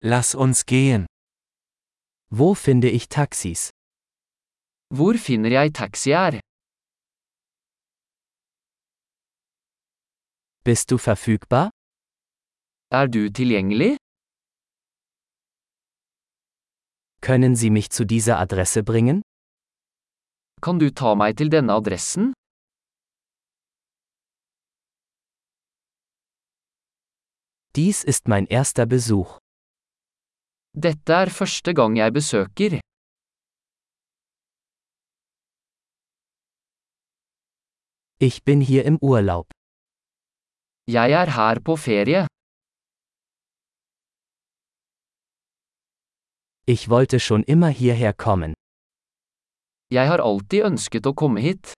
Lass uns gehen. Wo finde ich Taxis? Hvor finner jeg taxier? Bist du verfügbar? Er du tilgjengelig? Können Sie mich zu dieser Adresse bringen? Kan du ta meg til denne adressen? Dies ist mein erster Besuch. Dette er første gang jeg besøker. Ich bin hier im Urlaub. Jeg er her på ferie. Ich wollte schon immer hierher kommen. Jeg har alltid ønsket å komme hit.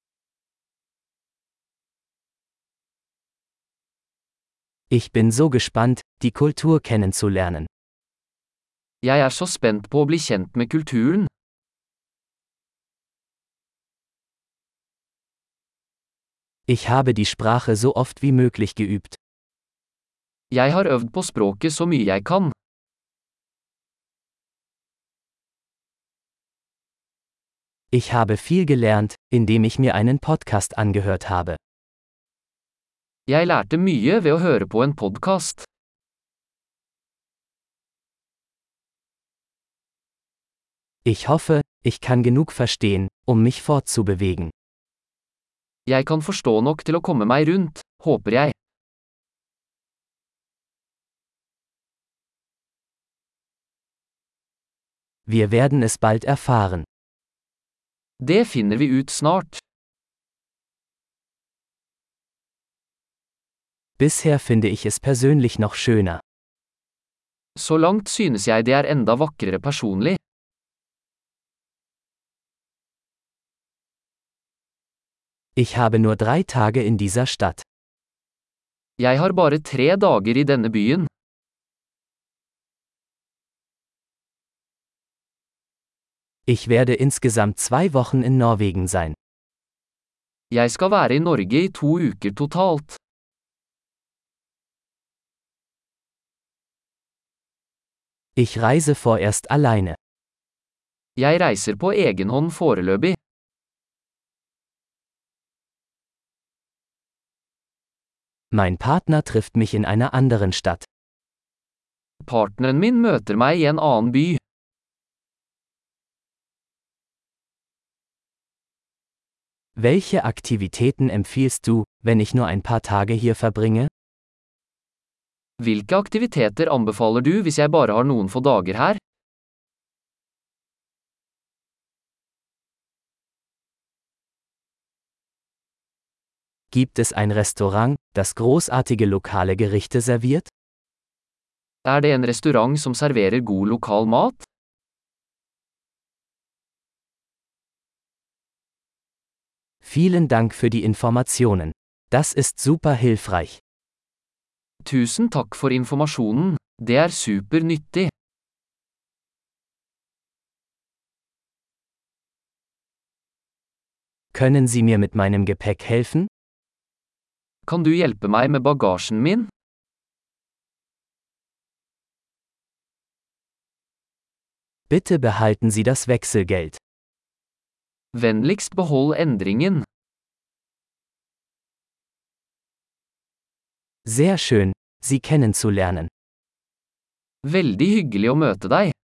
Ich bin so gespannt, die Kultur kennenzulernen. Jeg er så spent på å bli kjent med kulturen. Ich habe die Sprache so oft wie möglich geübt. Jeg har øvd på språket så mye jeg kan. Ich habe viel gelernt, indem ich mir einen Podcast angehört habe. Jeg lærte mye ved å høre på en podcast. Ich hoffe, ich kann genug verstehen, um mich fortzubewegen. Jeg kan forstå nok til å komme meg rundt, håper jeg. Wir werden es bald erfahren. Det finner vi ut snart. Bisher finde ich es persönlich noch schöner. Så langt synes jeg det er enda vakrere personlig. Ich habe nur 3 Tage in dieser Stadt. Jeg har bare 3 dager i denne byen. Ich werde insgesamt 2 Wochen in Norwegen sein. Jeg skal være i Norge i 2 uker totalt. Ich reise vorerst alleine. Jeg reiser på egen hånd foreløpig. Mein Partner trifft mich in einer anderen Stadt. Partneren min møter meg i en annen by. Welche Aktivitäten empfiehlst du, wenn ich nur ein paar Tage hier verbringe? Hvilke aktiviteter anbefaler du hvis jeg bare har noen få dager her? Gibt es ein Restaurant, das großartige lokale Gerichte serviert? Er det en restaurant som serverer god lokal mat? Vielen Dank für die Informationen. Das ist super hilfreich. Tusen takk for informasjonen. Det er super nyttig. Können Sie mir mit meinem Gepäck helfen? Kan du hjelpe meg med bagasjen min? Bitte behalten Sie das Wechselgeld. Vennligst behold endringen. Sehr schön, Sie kennenzulernen. Veldig hyggelig å møte deg.